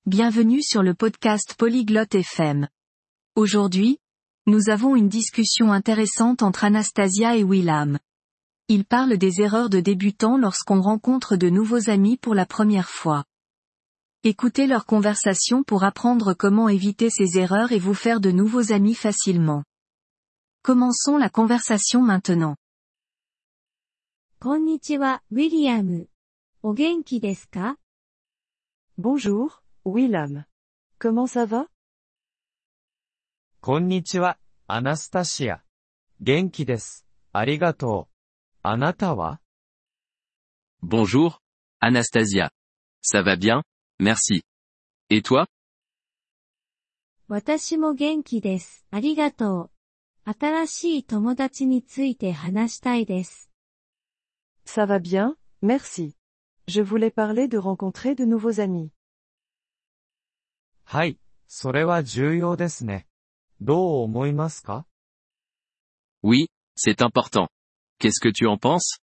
Bienvenue sur le podcast Polyglotte FM. Aujourd'hui, nous avons une discussion intéressante entre Anastasia et Willam. Ils parlent des erreurs de débutants lorsqu'on rencontre de nouveaux amis pour la première fois. Écoutez leur conversation pour apprendre comment éviter ces erreurs et vous faire de nouveaux amis facilement. Commençons la conversation maintenant. こんにちは、ウィリアム。お元気ですか？ Bonjour, Willam. Comment ça va? こんにちは、アナスタシア。元気です。ありがとう。あなたは？ Bonjour, Anastasia. Ça va bien, merci. Et toi? 私も元気です。ありがとう。新しい友達について話したいです。 Ça va bien, merci. Je voulais parler de rencontrer de nouveaux amis. はい、それは重要ですね。どう思いますか？ Oui, c'est important. Qu'est-ce que tu en penses?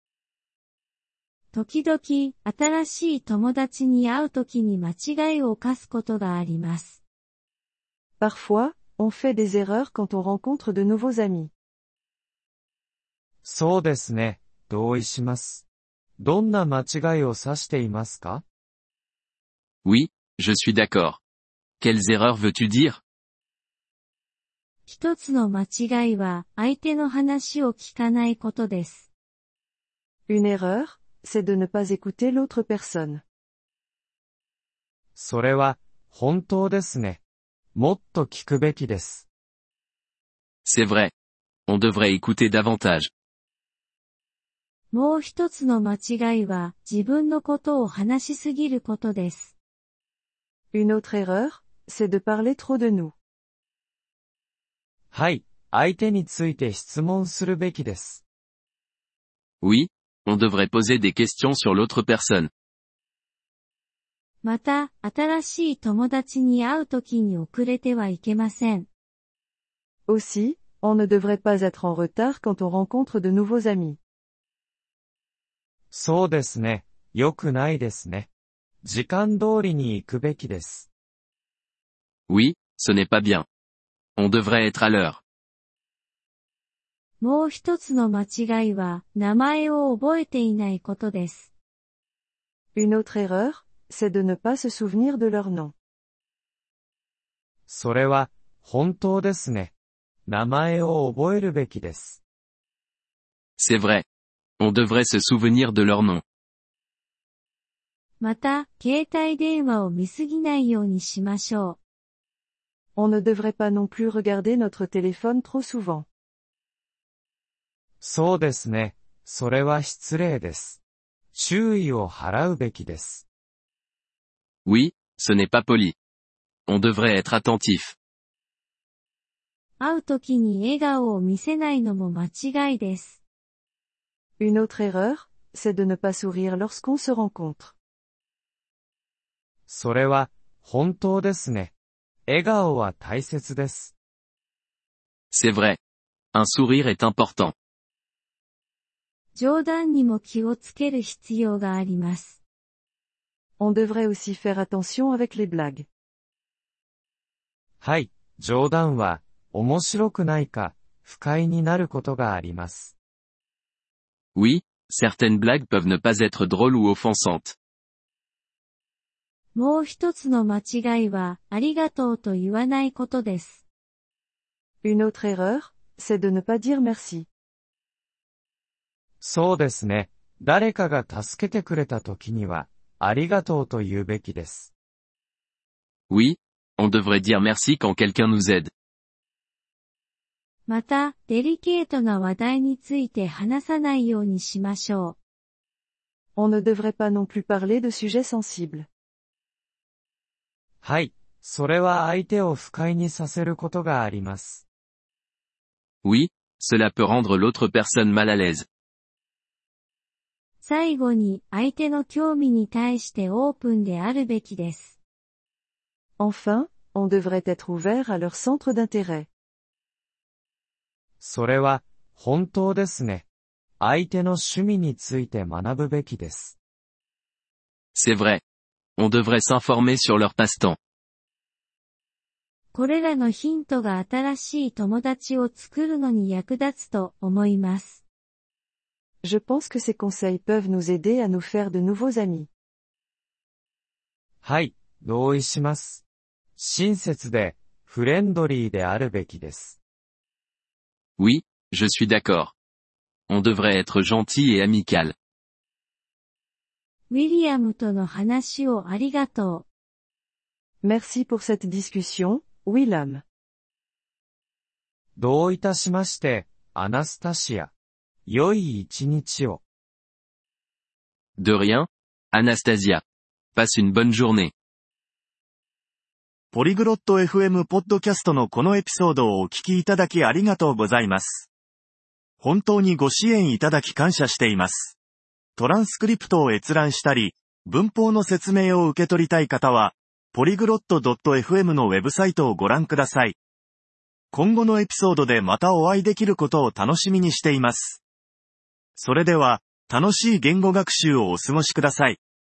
時々、新しい友達に会うときに間違いを犯すことがあります。 Parfois, on fait des erreurs quand on rencontre de nouveaux amis. そうですね、同意します。どんな間違いを指していますか？ Oui, je suis d'accord. Quelles erreurs veux-tu dire? 一つの間違いは、相手の話を聞かないことです。 Une erreur, c'est de ne pas écouter l'autre personne. それは、本当ですね。もっと聞くべきです。 C'est vrai. On devrait écouter davantage. もう一つの間違いは、自分のことを話しすぎることです。 Une autre erreur, c'est de parler trop de nous. はい、相手について質問するべきです。 Oui, on devrait poser des questions sur l'autre personne. また、新しい友達に会うときに遅れてはいけません。 Aussi, on ne devrait pas être en retard quand on rencontre de nouveaux amis. そうですね、良くないですね。時間通りに行くべきです。 Oui, ce n'est pas bien. On devrait être à l'heure. もう一つの間違いは、名前を覚えていないことです。 Une autre erreur, c'est de ne pas se souvenir de leur nom. それは、本当ですね。名前を覚えるべきです。 C'est vrai. On devrait se souvenir de leur nom. また、携帯電話を見すぎないようにしましょう。 On ne devrait pas non plus regarder notre téléphone trop souvent. そうですね。それは失礼です。注意を払うべきです。 Oui, ce n'est pas poli. On devrait être attentif. 会うときに笑顔を見せないのも間違いです。 Une autre erreur, c'est de ne pas sourire lorsqu'on se rencontre. それは、本当ですね。笑顔は大切です。 C'est vrai. Un sourire est important. 冗談にも気をつける必要があります。 On devrait aussi faire attention avec les blagues. はい、冗談は、面白くないか、不快になることがあります。 Oui, certaines blagues peuvent ne pas être drôles ou offensantes. もう一つの間違いは、ありがとうと言わないことです。 Une autre erreur, c'est de ne pas dire merci. そうですね。誰かが助けてくれた時には、ありがとうと言うべきです。 Oui, on devrait dire merci quand quelqu'un nous aide. また、デリケートな話題について話さないようにしましょう。 On ne devrait pas non plus parler de sujets sensibles. はい、それは相手を不快にさせることがあります。 Oui, cela peut rendre l'autre personne mal à l'aise. 最後に、相手の興味に対してオープンであるべきです。 Enfin, on devrait être ouvert à leur centre d'intérêt. それは、本当ですね。相手の趣味について学ぶべきです。 C'est vrai. On devrait s'informer sur leur passe-temps. これらのヒントが新しい友達を作るのに役立つと思います。 Je pense que ces conseils peuvent nous aider à nous faire de nouveaux amis. はい、同意します。親切で、フレンドリーであるべきです。 Oui, je suis d'accord. On devrait être gentil et amical. ウィリアムとの話をありがとう。 Merci pour cette discussion, Willam. どういたしまして、アナスタシア。良い一日を。 De rien, Anastasia. Passe une bonne journée. ポリグロット FM ポッドキャストのこのエピソードをお聞きいただきありがとうございます。本当にご支援いただき感謝しています。トランスクリプトを閲覧したり、文法の説明を受け取りたい方は、polyglot.fm のウェブサイトをご覧ください。今後のエピソードでまたお会いできることを楽しみにしています。それでは、楽しい言語学習をお過ごしください。